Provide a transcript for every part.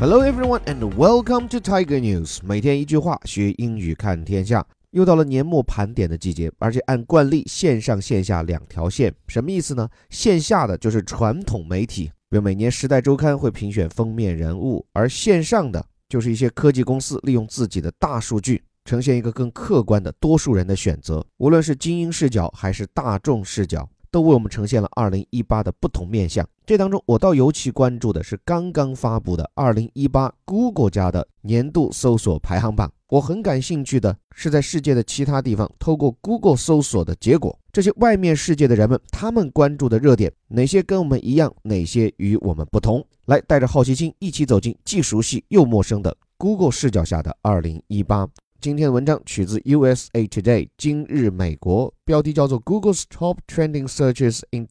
Hello everyone and welcome to Tiger News。 每天一句话，学英语看天下。又到了年末盘点的季节，而且按惯例线上线下两条线。什么意思呢？线下的就是传统媒体，比如每年时代周刊会评选封面人物，而线上的就是一些科技公司利用自己的大数据呈现一个更客观的多数人的选择，无论是精英视角还是大众视角，都为我们呈现了2018的不同面向。这当中我倒尤其关注的是刚刚发布的2018 Google 家的年度搜索排行榜。我很感兴趣的是在世界的其他地方透过 Google 搜索的结果，这些外面世界的人们他们关注的热点，哪些跟我们一样，哪些与我们不同。来，带着好奇心一起走进既熟悉又陌生的 Google 视角下的2018。今天的文章取自 USA Today 今日美国，标题叫做 Google's Top Trending Searches in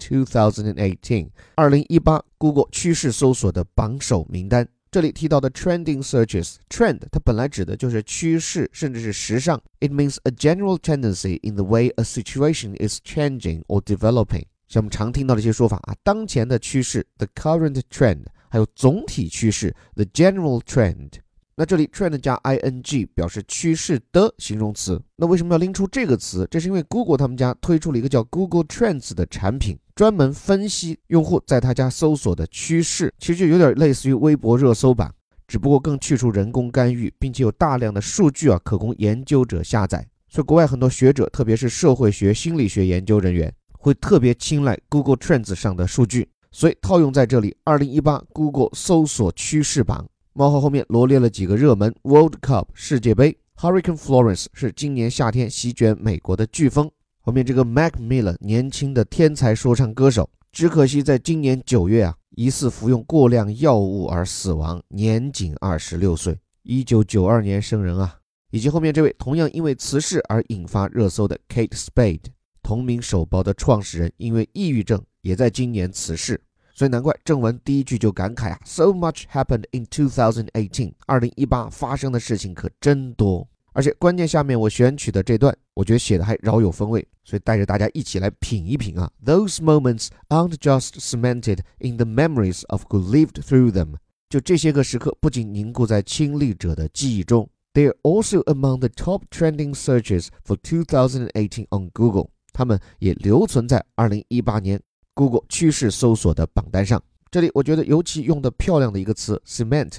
2018 2018 Google 趋势搜索的榜首名单。这里提到的 Trending Searches Trend 它本来指的就是趋势甚至是时尚， It means a general tendency in the way a situation is changing or developing。 像我们常听到的一些说法当前的趋势 The current trend， 还有总体趋势 The general trend。那这里 trend 加 ing 表示趋势的形容词。那为什么要拎出这个词？这是因为 Google 他们家推出了一个叫 Google Trends 的产品，专门分析用户在他家搜索的趋势，其实就有点类似于微博热搜榜，只不过更去除人工干预，并且有大量的数据可供研究者下载。所以国外很多学者，特别是社会学、心理学研究人员，会特别青睐 Google Trends 上的数据。所以套用在这里， 2018 Google 搜索趋势榜冒号后面罗列了几个热门 World Cup 世界杯， Hurricane Florence 是今年夏天席卷美国的飓风，后面这个 Mac Miller 年轻的天才说唱歌手，只可惜在今年9月疑似服用过量药物而死亡，年仅26岁，1992年生人以及后面这位同样因为此事而引发热搜的 Kate Spade， 同名手包的创始人，因为抑郁症也在今年辞世。所以难怪正文第一句就感慨So much happened in 2018 2018发生的事情可真多。而且关键下面我选取的这段，我觉得写的还饶有风味，所以带着大家一起来品一品Those moments aren't just cemented in the memories of who lived through them。 就这些个时刻不仅凝固在亲历者的记忆中， They're also among the top trending searches for 2018 on Google。 他们也留存在2018年Google 趋势搜索的榜单上。这里我觉得尤其用的漂亮的一个词 Cement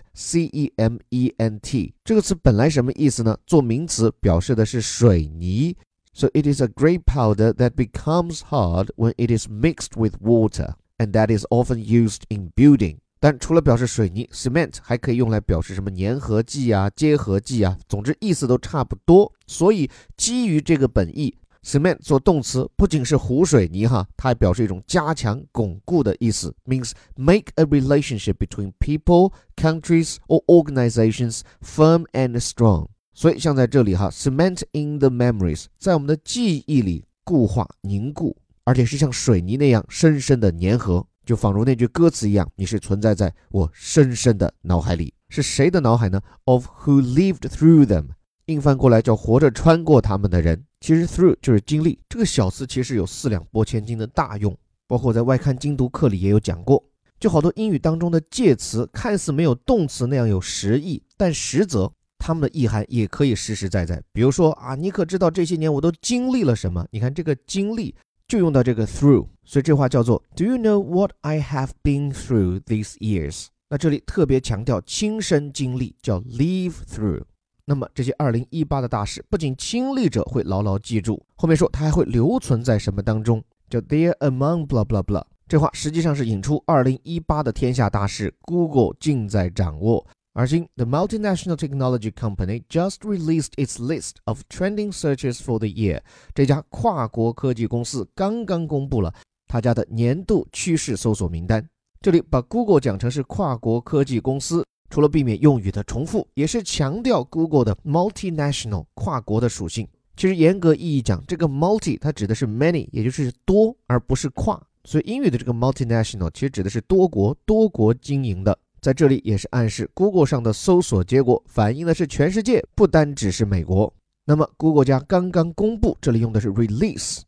C-E-M-E-N-T， 这个词本来什么意思呢？做名词表示的是水泥， So it is a gray powder that becomes hard when it is mixed with water and that is often used in building。 但除了表示水泥， Cement 还可以用来表示什么粘合剂结合剂总之意思都差不多。所以基于这个本意，Cement 做动词不仅是糊水泥它还表示一种加强巩固的意思， means make a relationship between people, countries or organizations firm and strong。 所以像在这里cement in the memories 在我们的记忆里固化凝固，而且是像水泥那样深深的粘合，就仿如那句歌词一样，你是存在在我深深的脑海里。是谁的脑海呢？ Of who lived through them， 硬翻过来叫活着穿过他们的人。其实 through 就是经历，这个小词其实有4两拨千斤的大用，包括在外刊精读课里也有讲过。就好多英语当中的介词看似没有动词那样有实意，但实则它们的意涵也可以实实在在。比如说你可知道这些年我都经历了什么？你看这个经历就用到这个 through， 所以这话叫做 Do you know what I have been through these years？ 那这里特别强调亲身经历，叫 live through。那么这些2018的大事不仅亲历者会牢牢记住，后面说它还会留存在什么当中，叫 They're among blah blah blah。 这话实际上是引出2018的天下大事 Google 尽在掌握。而今 The multinational technology company just released its list of trending searches for the year。 这家跨国科技公司刚刚公布了他家的年度趋势搜索名单。这里把 Google 讲成是跨国科技公司，除了避免用语的重复，也是强调 Google 的 multinational 跨国的属性。其实严格意义讲，这个 multi 它指的是 many， 也就是多，而不是跨。所以英语的这个 multinational 其实指的是多国经营的。在这里也是暗示 Google 上的搜索结果反映的是全世界，不单只是美国。那么 Google 家刚刚公布，这里用的是 release，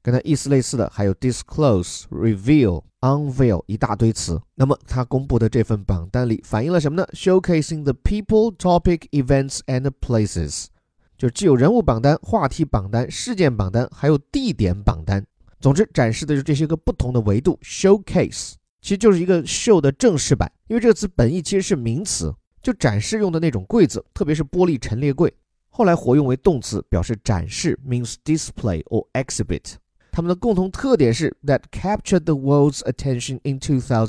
跟它意思类似的还有 disclose、reveal、unveil 一大堆词。那么他公布的这份榜单里反映了什么呢？ Showcasing the people, topic, events and places， 就既有人物榜单、话题榜单、事件榜单还有地点榜单。总之展示的就是这些个不同的维度。 Showcase 其实就是一个 show 的正式版，因为这个词本意其实是名词，就展示用的那种柜子，特别是玻璃陈列柜。后来活用为动词，表示展示 means display or exhibit。 它们的共同特点是 that captured the world's attention in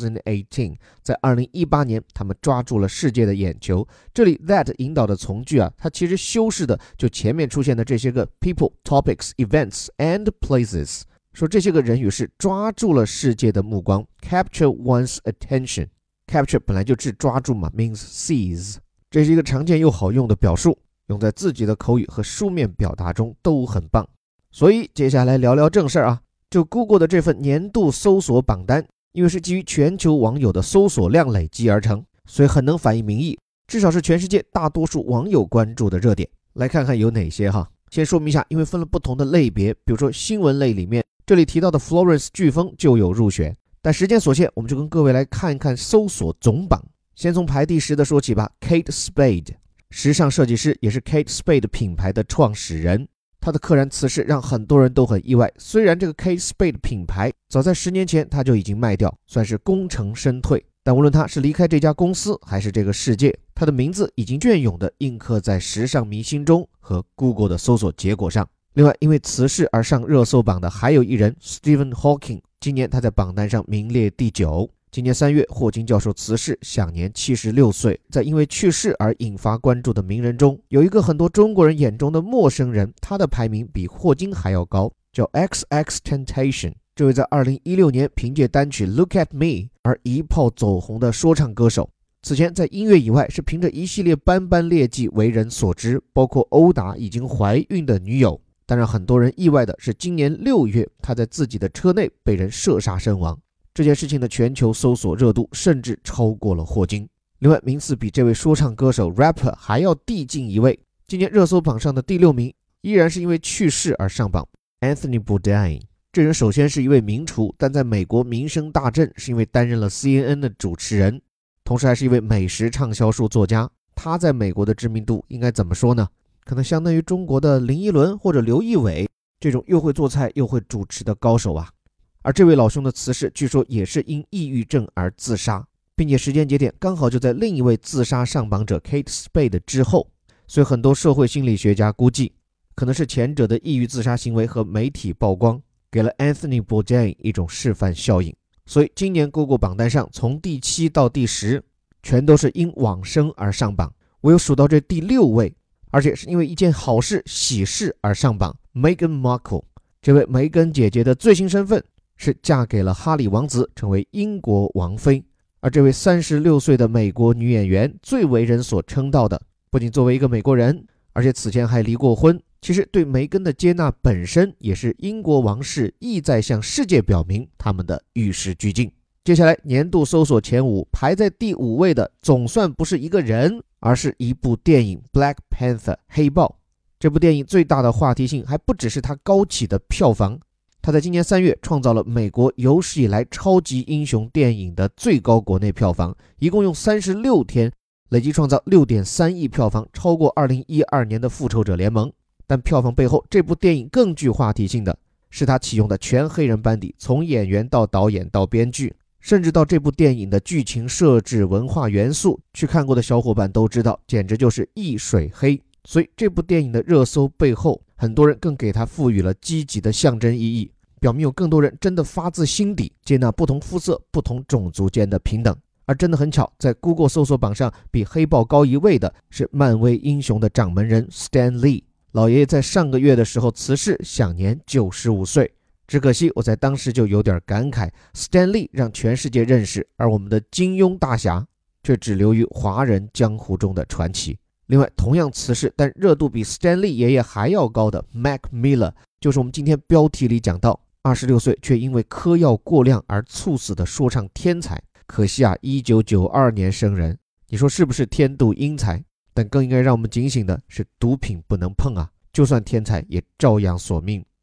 2018， 在2018年他们抓住了世界的眼球。这里 that 引导的从句它其实修饰的就前面出现的这些个 people, topics, events and places， 说这些个人与事抓住了世界的目光。 capture one's attention， capture 本来就指抓住嘛， means seize， 这是一个常见又好用的表述，用在自己的口语和书面表达中都很棒。所以接下来聊聊正事就 Google 的这份年度搜索榜单，因为是基于全球网友的搜索量累积而成，所以很能反映民意，至少是全世界大多数网友关注的热点。来看看有哪些先说明一下，因为分了不同的类别，比如说新闻类里面，这里提到的 Florence 飓风就有入选，但时间所限，我们就跟各位来看一看搜索总榜。先从排第10的说起吧。 Kate Spade， 时尚设计师，也是 Kate Spade 品牌的创始人。他的溘然辞世让很多人都很意外，虽然这个 Kate Spade 品牌早在10年前他就已经卖掉，算是功成身退，但无论他是离开这家公司还是这个世界，他的名字已经隽永地印刻在时尚迷心中和 Google 的搜索结果上。另外因为辞世而上热搜榜的还有一人 Stephen Hawking， 今年他在榜单上名列第9。今年3月霍金教授辞世，享年76岁。在因为去世而引发关注的名人中，有一个很多中国人眼中的陌生人，他的排名比霍金还要高，叫 XXXTentacion。 这位在2016年凭借单曲 Look at Me 而一炮走红的说唱歌手，此前在音乐以外是凭着一系列斑斑劣迹为人所知，包括殴打已经怀孕的女友。但让很多人意外的是，今年6月他在自己的车内被人射杀身亡。这件事情的全球搜索热度甚至超过了霍金。另外名次比这位说唱歌手 rapper 还要递进一位，今年热搜榜上的第6名依然是因为去世而上榜。 Anthony Bourdain， 这人首先是一位名厨，但在美国名声大振是因为担任了 CNN 的主持人，同时还是一位美食畅销书作家。他在美国的知名度应该怎么说呢？可能相当于中国的林依轮或者刘仪伟这种又会做菜又会主持的高手而这位老兄的辞世据说也是因抑郁症而自杀，并且时间节点刚好就在另一位自杀上榜者 Kate Spade 之后，所以很多社会心理学家估计，可能是前者的抑郁自杀行为和媒体曝光，给了 Anthony Bourdain 一种示范效应。所以今年 Google 榜单上从第7到第10全都是因往生而上榜，我有数到这第6位，而且是因为一件好事喜事而上榜。 Meghan Markle， 这位梅根姐姐的最新身份是嫁给了哈里王子，成为英国王妃。而这位36岁的美国女演员最为人所称道的，不仅作为一个美国人，而且此前还离过婚。其实对梅根的接纳本身也是英国王室意在向世界表明他们的与时俱进。接下来年度搜索前5，排在第5位的总算不是一个人，而是一部电影 Black Panther 黑豹。这部电影最大的话题性还不只是它高起的票房，他在今年3月创造了美国有史以来超级英雄电影的最高国内票房，一共用36天累计创造 6.3 亿票房，超过2012年的复仇者联盟。但票房背后，这部电影更具话题性的是他启用的全黑人班底，从演员到导演到编剧，甚至到这部电影的剧情设置、文化元素，去看过的小伙伴都知道，简直就是一水黑。所以这部电影的热搜背后，很多人更给它赋予了积极的象征意义，表明有更多人真的发自心底接纳不同肤色、不同种族间的平等。而真的很巧，在 Google 搜索榜上比黑豹高1位的是漫威英雄的掌门人 Stan Lee。 老爷爷在上个月的时候辞世，享年95岁。只可惜我在当时就有点感慨， Stan Lee 让全世界认识，而我们的金庸大侠却只留于华人江湖中的传奇。另外同样辞世但热度比 Stan Lee 爷爷还要高的 Mac Miller， 就是我们今天标题里讲到26岁却因为嗑药过量而猝死的说唱天才。可惜1992年生人，你说是不是天妒英才？但更应该让我们警醒的是，毒品不能碰就算天才也照样索命。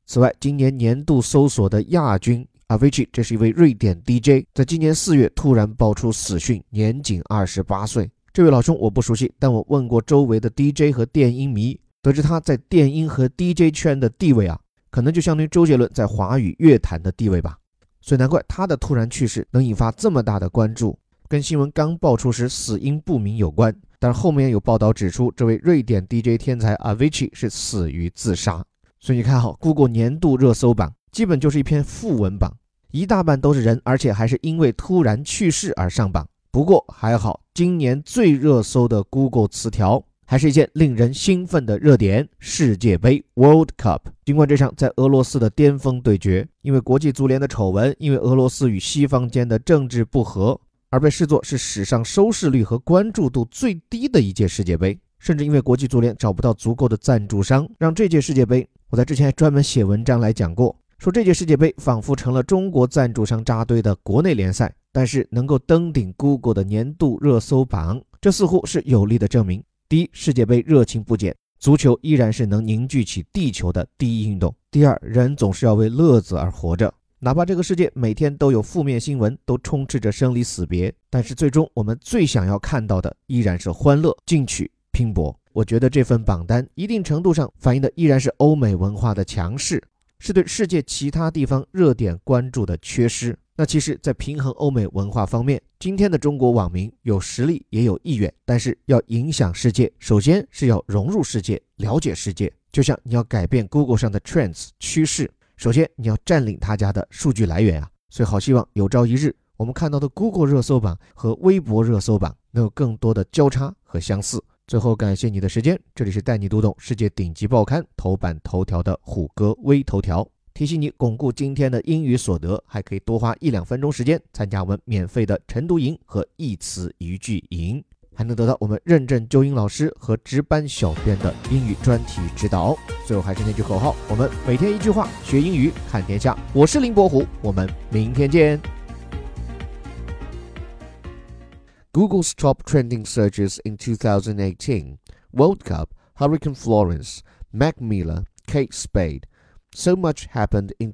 此外，今年年度搜索的亚军 Avicii， 这是一位瑞典 DJ， 在今年4月突然爆出死讯，年仅28岁。这位老兄我不熟悉，但我问过周围的 DJ 和电音迷，得知他在电音和 DJ 圈的地位可能就相当于周杰伦在华语乐坛的地位吧。所以难怪他的突然去世能引发这么大的关注，跟新闻刚爆出时死因不明有关。但是后面有报道指出，这位瑞典 DJ 天才 Avicii 是死于自杀。所以你看Google 年度热搜榜基本就是一篇负文榜，一大半都是人，而且还是因为突然去世而上榜。不过还好，今年最热搜的 Google 词条还是一件令人兴奋的热点，世界杯 World Cup。 尽管这场在俄罗斯的巅峰对决因为国际足联的丑闻，因为俄罗斯与西方间的政治不和而被视作是史上收视率和关注度最低的一届世界杯，甚至因为国际足联找不到足够的赞助商，让这届世界杯，我在之前还专门写文章来讲过，说这届世界杯仿佛成了中国赞助商扎堆的国内联赛。但是能够登顶 Google 的年度热搜榜，这似乎是有力的证明。第一，世界杯热情不减，足球依然是能凝聚起地球的第一运动。第二，人总是要为乐子而活着，哪怕这个世界每天都有负面新闻，都充斥着生离死别，但是最终我们最想要看到的依然是欢乐、进取、拼搏。我觉得这份榜单一定程度上反映的依然是欧美文化的强势，是对世界其他地方热点关注的缺失。那其实在平衡欧美文化方面，今天的中国网民有实力也有意愿，但是要影响世界，首先是要融入世界，了解世界。就像你要改变 Google 上的 Trends 趋势，首先你要占领他家的数据来源所以好希望有朝一日我们看到的 Google 热搜榜和微博热搜榜能有更多的交叉和相似。最后感谢你的时间，这里是带你读懂世界顶级报刊头版头条的虎哥微头条，提醒你巩固今天的英语所得，还可以多花1-2分钟时间参加我们免费的晨读营和一词一句营，还能得到我们认证纠音老师和值班小编的英语专题指导。最后还是那句口号，我们每天一句话，学英语看天下。我是林伯虎，我们明天见。Google's top trending searches in 2018: World Cup, Hurricane Florence, Mac Miller, Kate Spade. So much happened in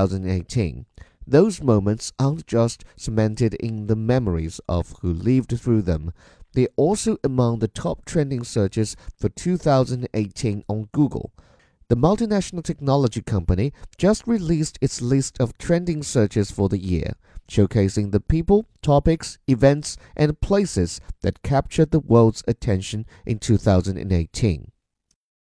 2018. Those moments aren't just cemented in the memories of who lived through them. They're also among the top trending searches for 2018 on Google. The multinational technology company just released its list of trending searches for the year, showcasing the people, topics, events, and places that captured the world's attention in 2018.